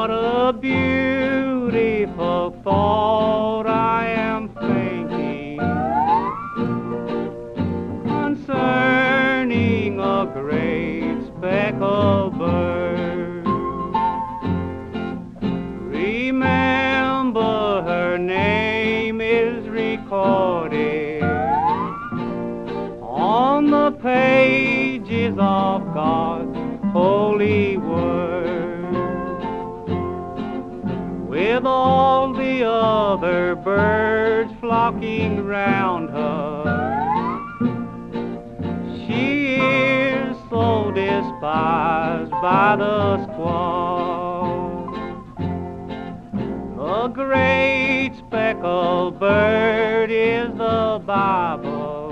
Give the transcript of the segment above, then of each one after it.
What a beautiful thought I am thinking concerning a great speckled bird. Remember, her name is recorded on the pages of God's holy word. With all the other birds flocking round her, she is so despised by the squaws. The great speckled bird is the Bible,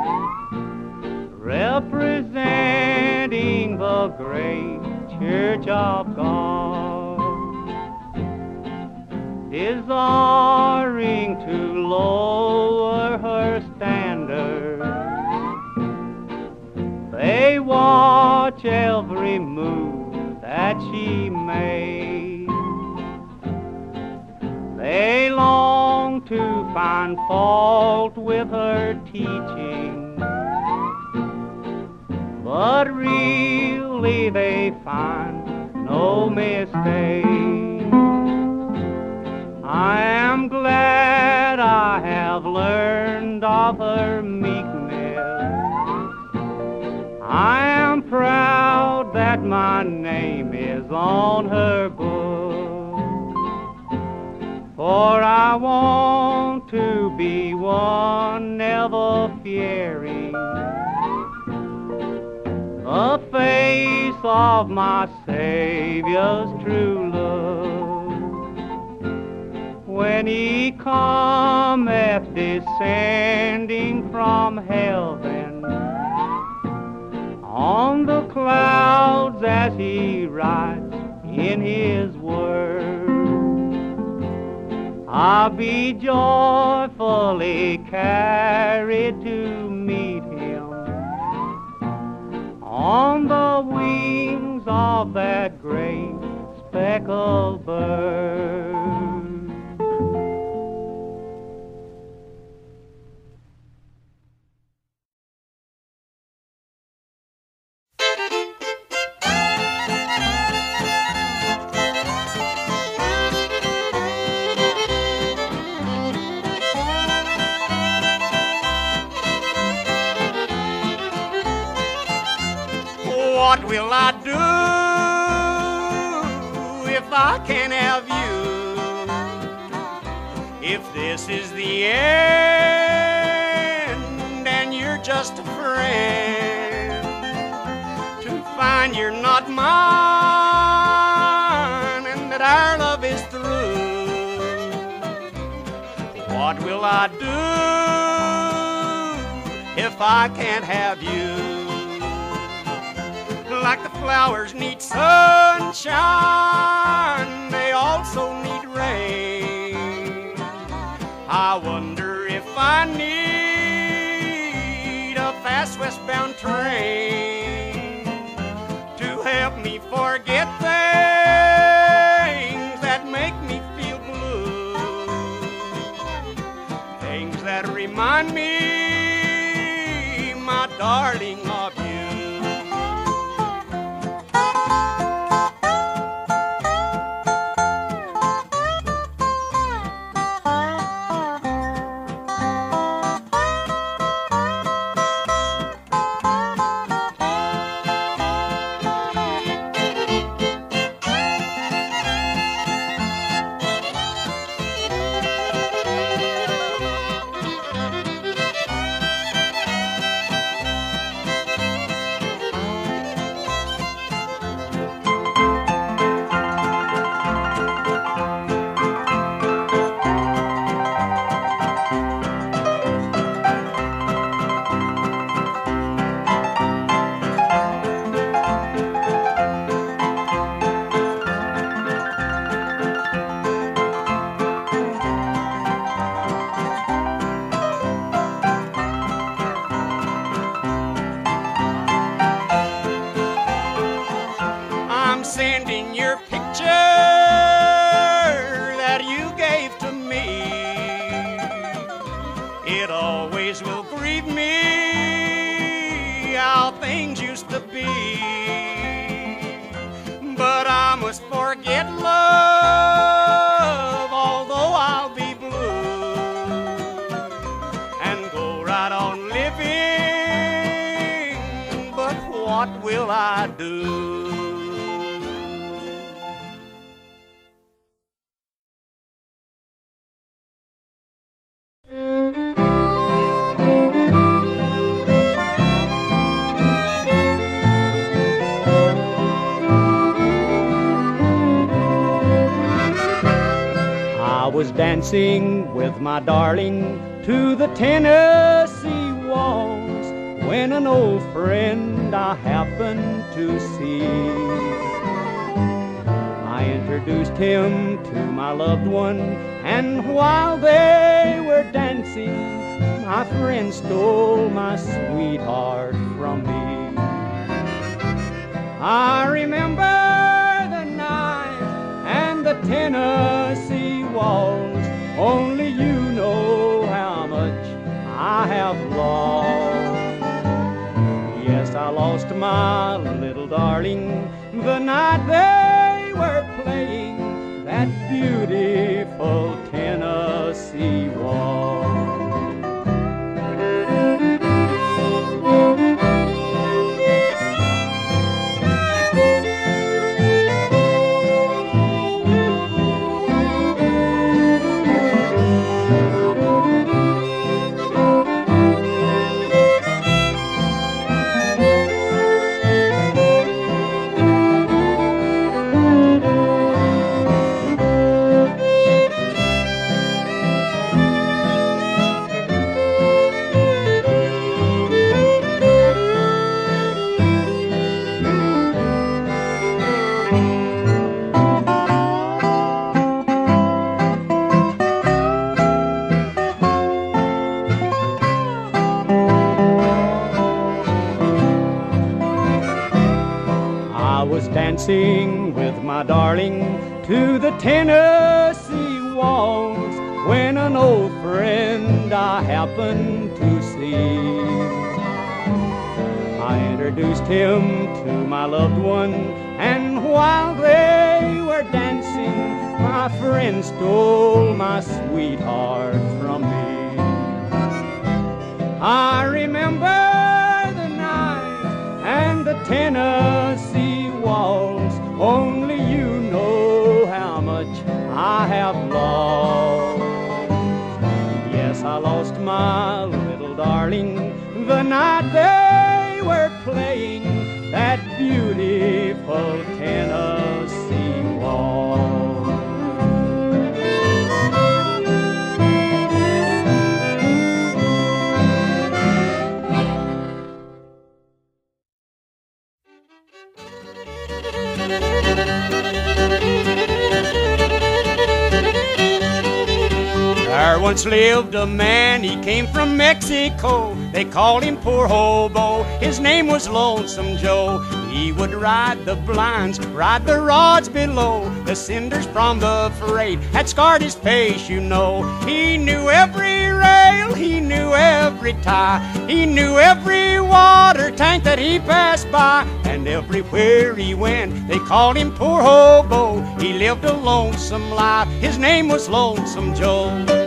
representing the great Church of God, desiring to lower her standard. They watch every move that she makes. They long to find fault with her teaching, but really they find no mistake. I am glad I have learned of her meekness. I am proud that my name is on her book, for I want to be one never fearing the face of my Savior's true love. When he cometh descending from heaven on the clouds as he writes in his word, I'll be joyfully carried to meet him on the wings of that great speckled bird. What will I do if I can't have you? If this is the end and you're just a friend, to find you're not mine and that our love is through. What will I do if I can't have you? Like the flowers need sunshine, they also need rain. I wonder if I need a fast westbound train to help me forget things that make me feel blue, things that remind me, my darling, of you. what will I do? I was dancing with my darling to the Tennessee waltz when an old friend I happened to see. I introduced him to my loved one, and while they were dancing, my friend stole my sweetheart from me. I remember the night and the Tennessee waltz, only you know how much I have lost. Yes, I lost my little darling the night they were playing that beautiful Tennessee waltz. Dancing with my darling to the Tennessee waltz when an old friend I happened to see. I introduced him to my loved one, and while they were dancing, my friend stole my sweetheart from me. I remember the night and the Tennessee waltz, only you know how much I have lost. Yes, I lost my little darling the night they were playing that beautiful Tennessee waltz. There once lived a man, he came from Mexico. They called him Poor Hobo, his name was Lonesome Joe. He would ride the blinds, ride the rods below. The cinders from the freight had scarred his face, you know. He knew every rail, he knew every tie, he knew every water tank that he passed by. And everywhere he went, they called him Poor Hobo. He lived a lonesome life, his name was Lonesome Joe.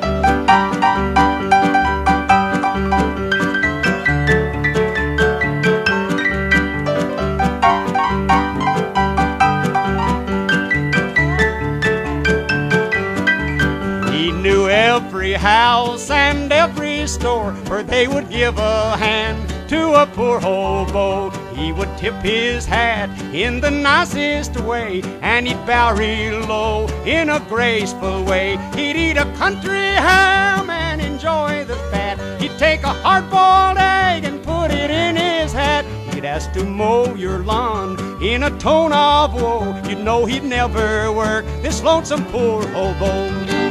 He knew every house and every store where they would give a hand to a poor hobo. He would tip his hat in the nicest way, and he'd bow real low in a graceful way. He'd eat a country ham and enjoy the fat. He'd take a hard-boiled egg and put it in his hat. He'd ask to mow your lawn in a tone of woe. You'd know he'd never work, this lonesome poor hobo.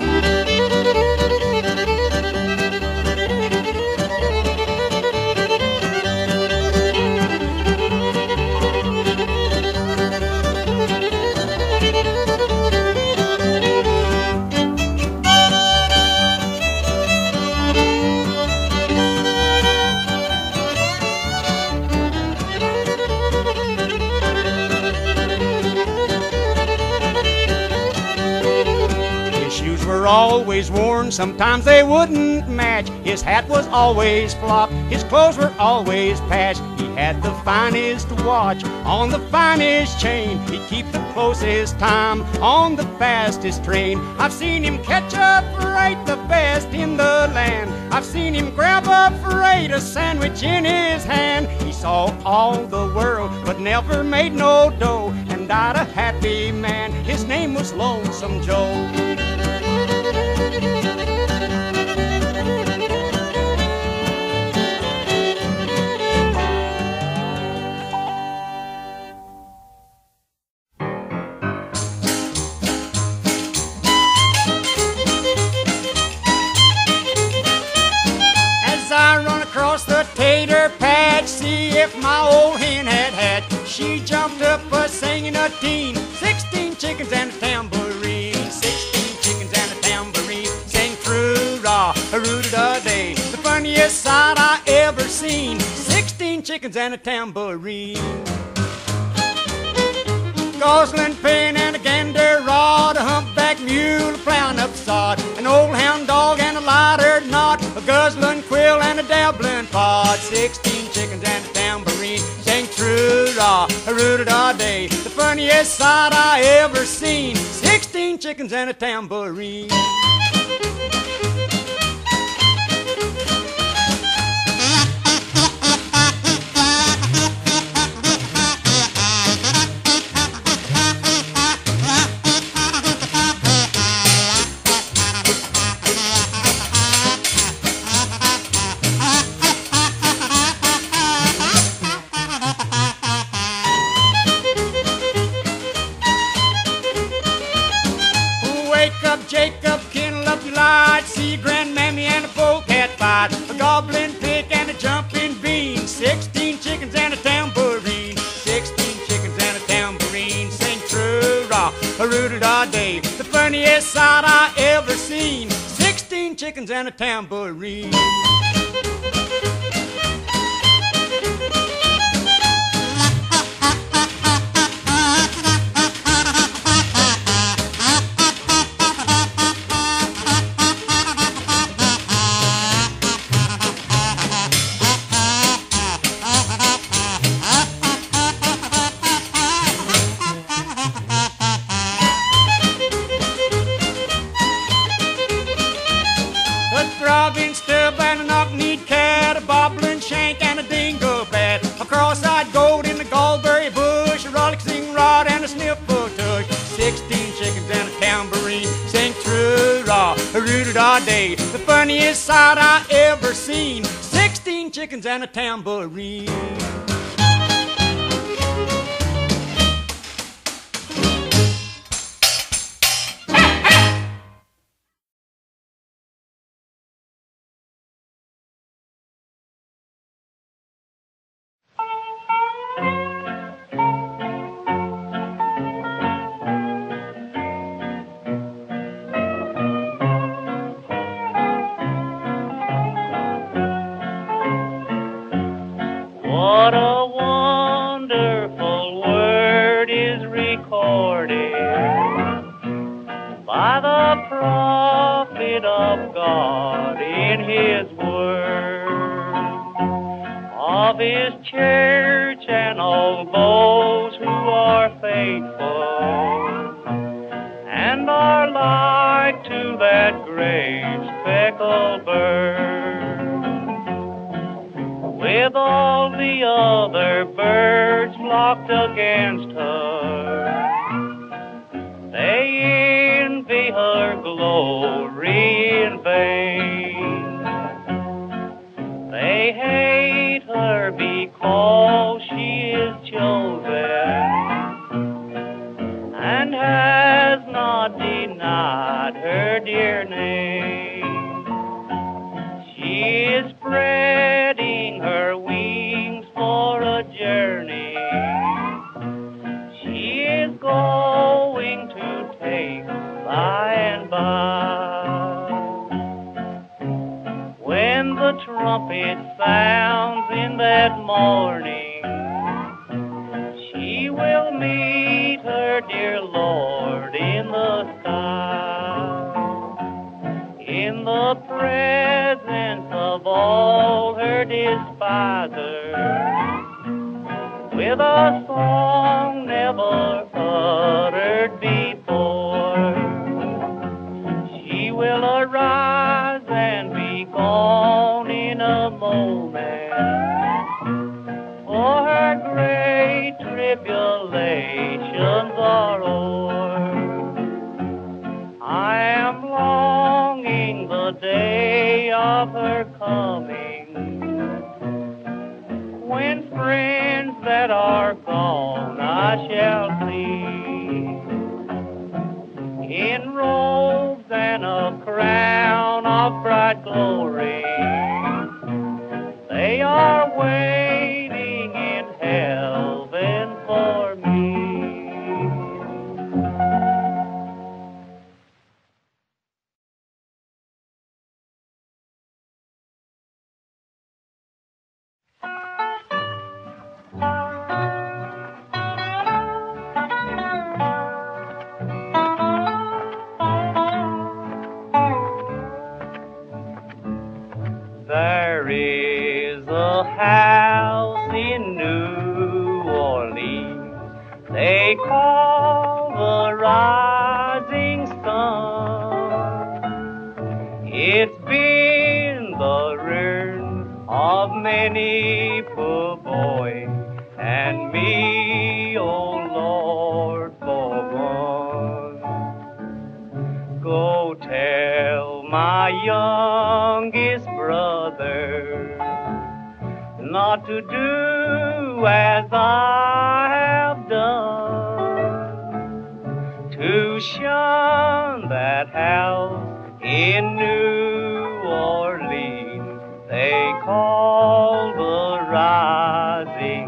Always worn, sometimes they wouldn't match. His hat was always flopped, his clothes were always patched. He had the finest watch on the finest chain. He'd keep the closest time on the fastest train. I've seen him catch a freight, the best in the land. I've seen him grab a freight, a sandwich in his hand. He saw all the world, but never made no dough, and died a happy man. His name was Lonesome Joe. Tater patch, see if my old hen had hatched. She jumped up singing a teen, 16 chickens and a tambourine. 16 chickens and a tambourine, sang true-rah, a-roo-da-day. The funniest sight I ever seen, 16 chickens and a tambourine. Gosling pin and a gander rod, a humpback mule plowing up sod, an old hound dog and a light-haired knot, a guzzling quill and a dabbling pod. 16 chickens and a tambourine, sang true-rah, a-roo-da-da-day. The funniest sight I ever seen, 16 chickens and a tambourine. Jacob, kindle up your light, see grandmammy and a polecat fight, a goblin pig and a jumping bean, 16 chickens and a tambourine. 16 chickens and a tambourine, sing true-rah, a-roo-da-da-day. The funniest sight I ever seen, 16 chickens and a tambourine. Throbbing stub and a knock-kneed cat, a bobbling shank and a dingo bat, a cross-eyed goat in the gallberry bush, a rollicking rod and a sniffle tush. 16 chickens and a tambourine, sing true-rah, a-roo-da-da-day. The funniest sight I ever seen, 16 chickens and a tambourine. What a wonderful word is recorded by the prophet of God in his word, of his church and all those who are faithful and are like to that great speckled bird. With all the other birds flocked against her, they envy her glory in vain. They hate her because she is chosen and has not denied her dear name. She is spreading her wings for a journey. She is going to take by and by. When the trumpet sounds in that morning, she will meet her dear Lord in the sky, in the presence of all her despisers. with a song never uttered before. She will arise and be gone in a moment, for her great tribulations are o'er. I am longing the day of her coming, when friends that are gone I shall see, in robes and a crown of bright glory. They are waiting in heaven for me. There is a house in New Orleans they call the Rising Sun. It's been the ruin of many poor boys and me, oh Lord, for one. Go tell my youngest brother not to do as I have done, to shun that house in New Orleans they call the Rising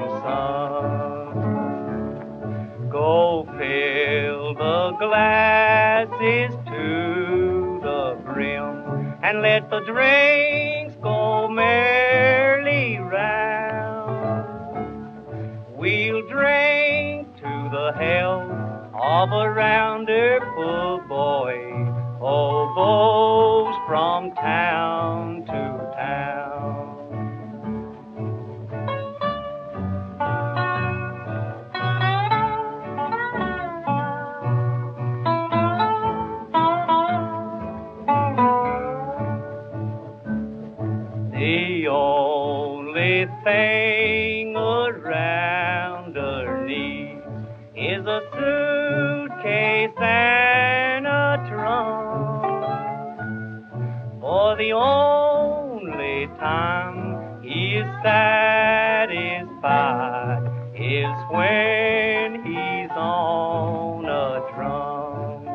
Sun. Go fill the glasses to the brim and let the drinks go merrily round. We'll drink to the health of a rounder poor boy, hoboes from town to town. The only thing around her knees is a suitcase and a trunk. For the only time he is satisfied is when he's on a drum.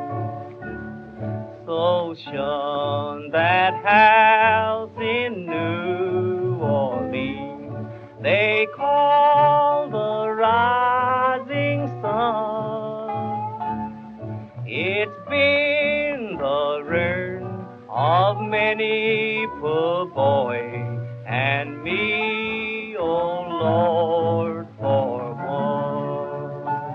So shun that house in New Orleans they call the Rising Sun. It's been the ruin of many poor boys and me, oh Lord, for one.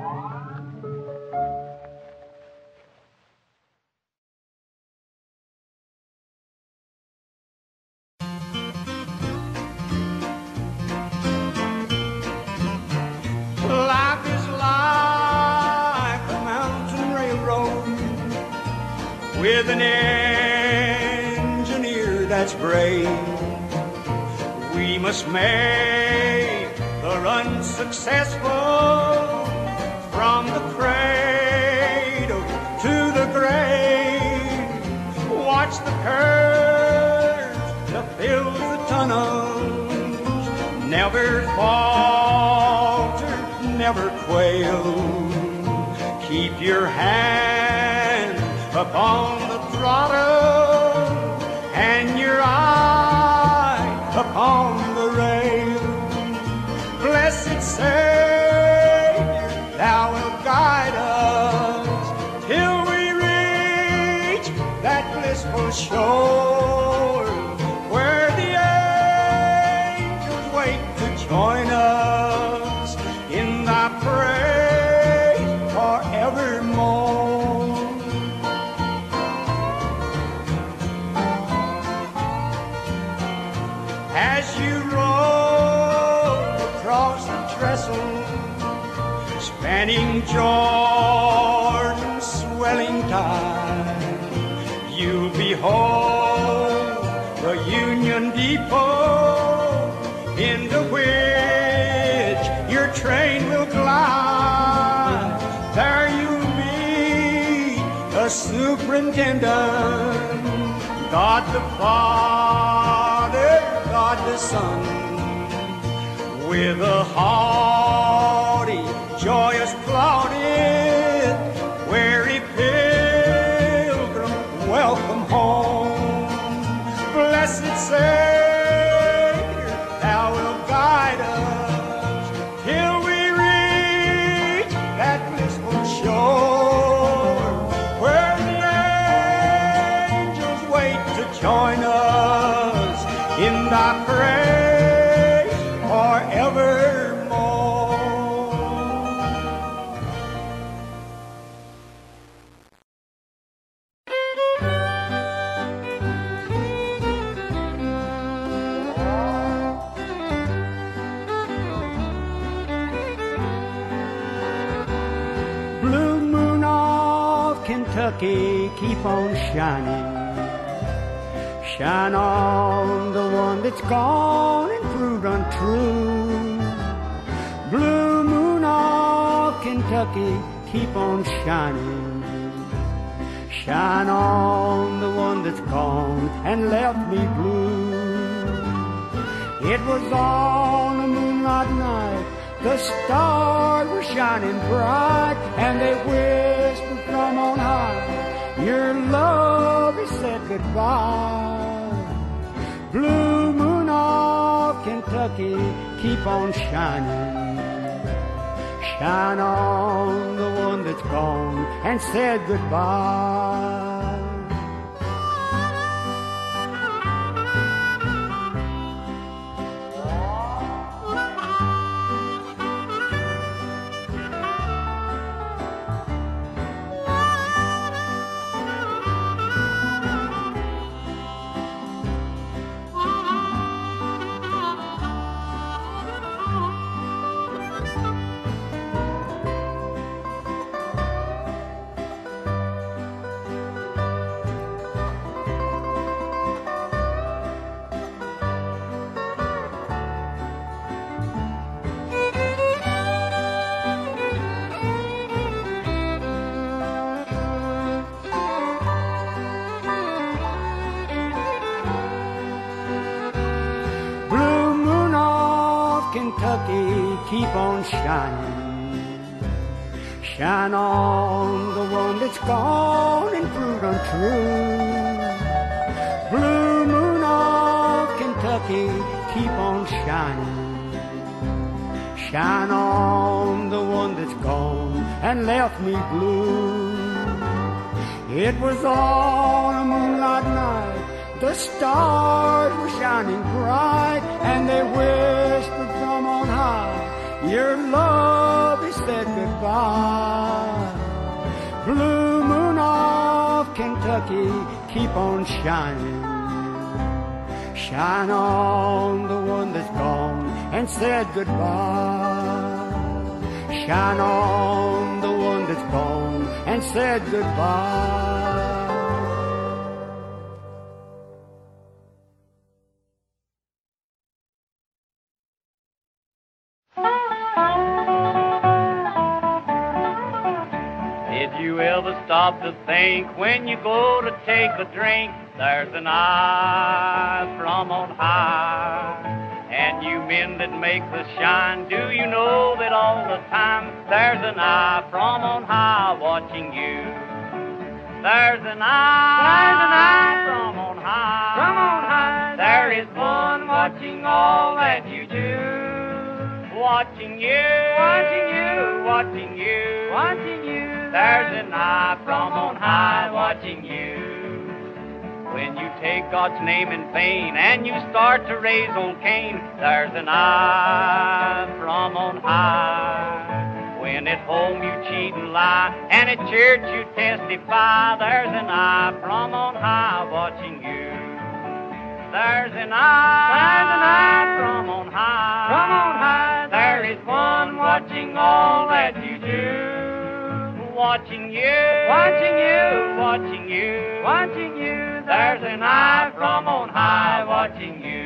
Life is like a mountain railroad with an engineer that's brave. We must make the run successful from the cradle to the grave. Watch the curves that fill the tunnels, never falter, never quail. Keep your hand upon the throttle and your eye upon the rail. Blessed Savior, thou wilt guide us till we reach that blissful shore where the angels wait to join us in thy praise forevermore. As you roll across the trestle Fanning Jordan's swelling tide, you'll behold the Union Depot into which your train will glide. There you'll meet the superintendent, God the Father, God the Son, with a haughty, joyous plaudit, weary pilgrim, welcome home. Blessed Savior, thou wilt guide us till we reach that blissful shore where the angels wait to join us in thy praise forevermore. Blue moon of Kentucky, keep on shining. Shine on the one that's gone and proved untrue. Blue moon of Kentucky, keep on shining. Shine on the one that's gone and left me blue. It was on a moonlight night, the stars were shining bright, and they whispered from on high, your love has said goodbye. Blue moon of Kentucky, keep on shining. Shine on the one that's gone and said goodbye. Kentucky, keep on shining. Shine on the one that's gone and proved untrue. Blue moon of Kentucky, keep on shining. Shine on the one that's gone and left me blue. It was on a moonlight night, the stars were shining bright, and they whispered from on high, your love has said goodbye. Blue moon of Kentucky, keep on shining. Shine on the one that's gone and said goodbye. Shine on the one that's gone and said goodbye. Did you ever stop to think when you go to take a drink, there's an eye from on high, and you men that make the shine, do you know that all the time there's an eye from on high watching you? There's an eye from on high, there is one watching all that you do, watching you, watching you, watching you, watching you. There's an eye from on high watching you. When you take God's name in vain and you start to raise old Cain, there's an eye from on high. When at home you cheat and lie, and at church you testify, there's an eye from on high watching you. There's an eye from on high, there is one watching all that you do. watching you, watching you, watching you, watching you. There's an eye from on high watching you.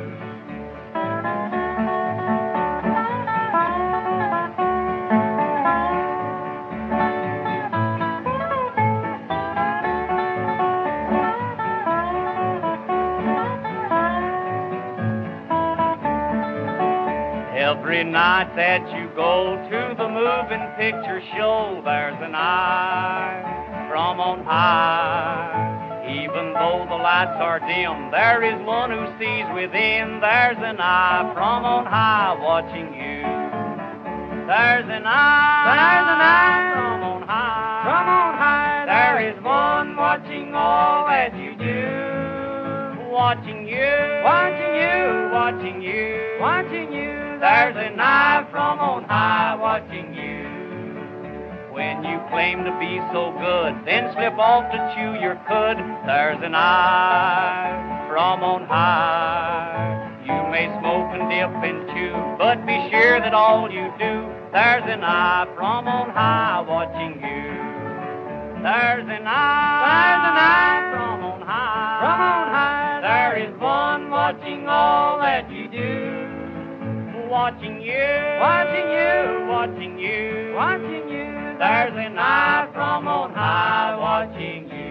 Every night that you go to the moving picture show, there's an eye from on high. Even though the lights are dim, there is one who sees within. There's an eye from on high watching you. There's an eye from on high, from on high. There is one watching all that you do, watching you, watching you, watching you, watching you. There's an eye from on high watching you. When you claim to be so good, then slip off to chew your cud. There's an eye from on high. You may smoke and dip and chew, but be sure that all you do, there's an eye from on high watching you. There's an eye from on high, from on high. There is one watching all that you do. Watching you, watching you, watching you, watching you. There's an eye from on high watching you.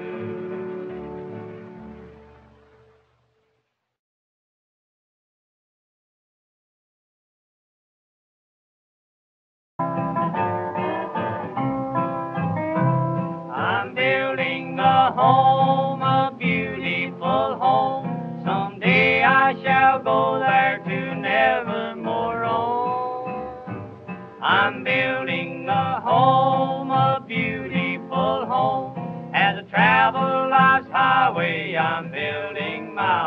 I'm building a home, a beautiful home. Someday I shall go there to nevermore roam. I'm building a home, a beautiful home. As I travel life's highway, I'm building my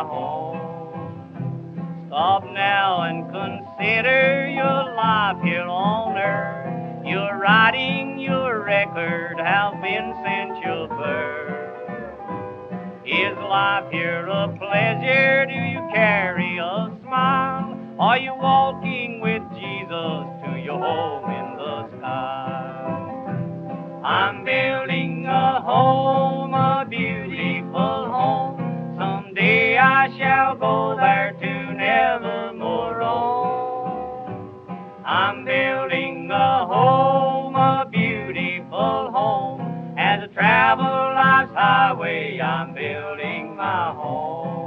home. Stop now and consider your life here on earth. Your writing, your record have been since your birth. Is life here a pleasure? Do you carry a smile? Are you walking with Jesus to your home in the sky? I'm building a home, a beautiful home. Someday I shall go there to nevermore roam. I'm building a home, a beautiful home. As I travel life's highway, I'm building my home.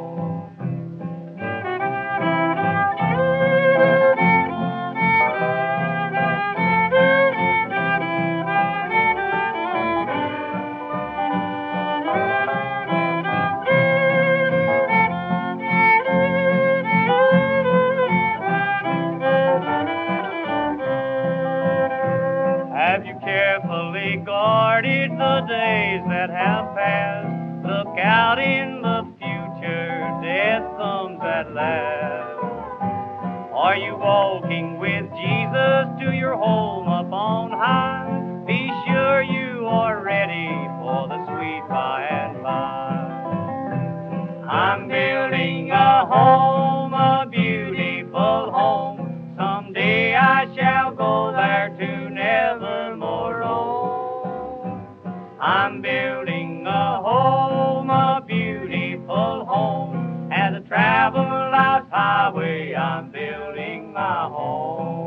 Have you carefully guarded the days that have passed? Look out in the future, death comes at last. Are you walking with Jesus to your home up on high? Be sure you are ready for the sweet by and by. I'm building a home, a beautiful home. Someday I shall go there to nevermore roam. I'm building a home, a beautiful home. As I travel life's highway, I'm building my home.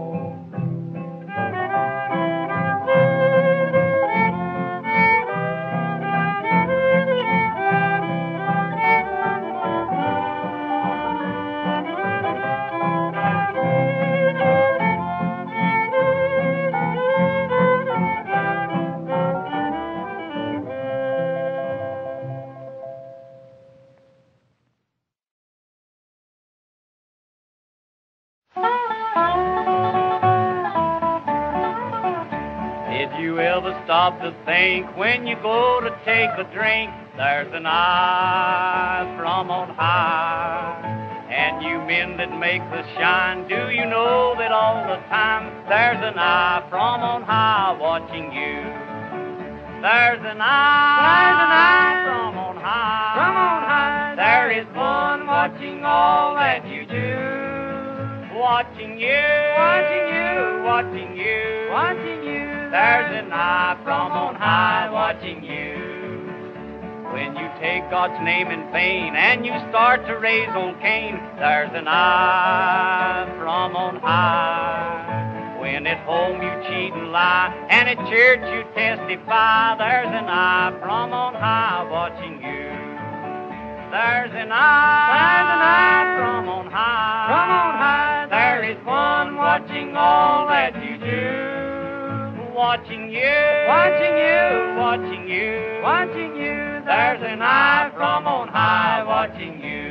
Did you ever stop to think when you go to take a drink, there's an eye from on high? And you men that make the shine, do you know that all the time there's an eye from on high watching you? There's an eye from on high, from on high. There is one watching all that you do, watching you, watching you, watching you, watching you. There's an eye from on high watching you. When you take God's name in vain and you start to raise on Cain, there's an eye from on high. When at home you cheat and lie, and at church you testify, there's an eye from on high watching you. There's an eye from on high. From on high, there is one watching all that you do. Watching you, watching you, watching you, watching you. There's an eye from on high watching you.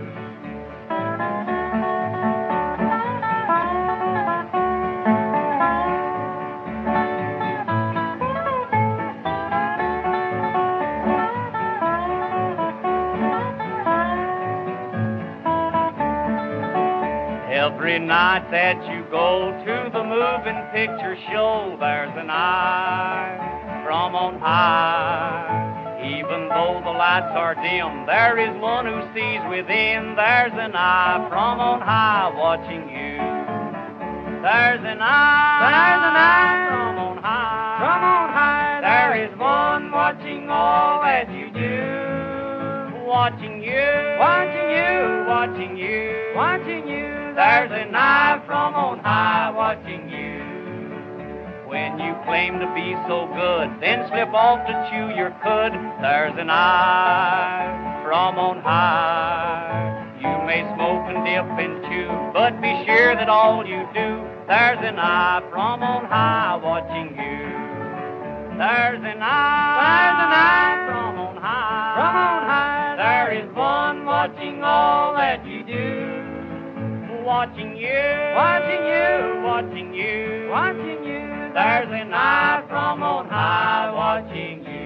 Every night that you go to the moving picture show, there's an eye from on high. Even though the lights are dim, there is one who sees within. There's an eye from on high watching you. There's an eye from on high. From on high, there is one watching all that you do. Watching you, watching you, watching you, watching you. There's an eye from on high watching you. When you claim to be so good, then slip off to chew your cud, there's an eye from on high. You may smoke and dip and chew, but be sure that all you do, there's an eye from on high watching you. There's an eye from on high. From on high, there is one watching all that you do. Watching you, watching you, watching you, watching you. There's an eye from on high watching you.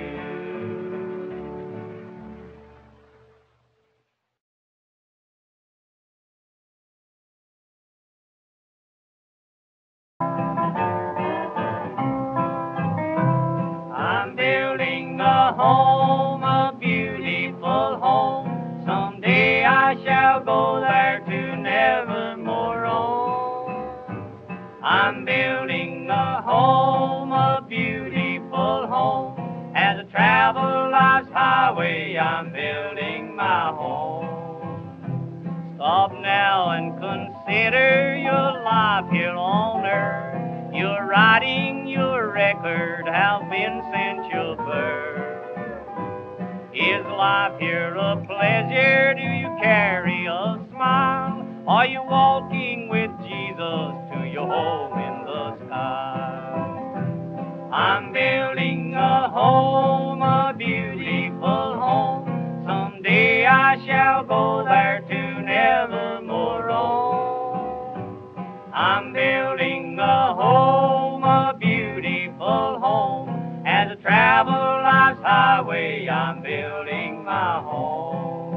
I'm building a home, a beautiful home. Someday I shall go there to nevermore roam. I'm building a home, a beautiful home. As I travel life's highway, I'm building my home. Stop now and consider your life here on earth. Your writing, your record have been since your birth. Is life here a pleasure? Do you carry a smile? Are you walking with Jesus to your home in the sky? I'm building a home, a beautiful home. Someday I shall go there to nevermore roam. I'm building a home, a beautiful home. As I travel life's highway, I'm building my home.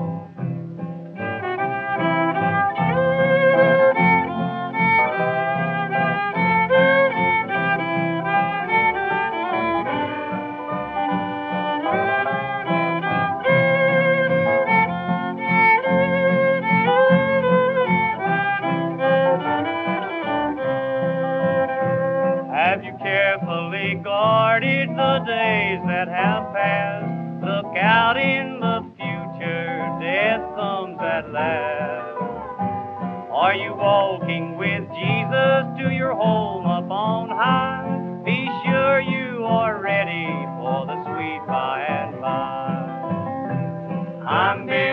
Have you carefully guarded the days that have passed? Look out in the future, death comes at last. Are you walking with Jesus to your home up on high? Be sure you are ready for the sweet by and by. I'm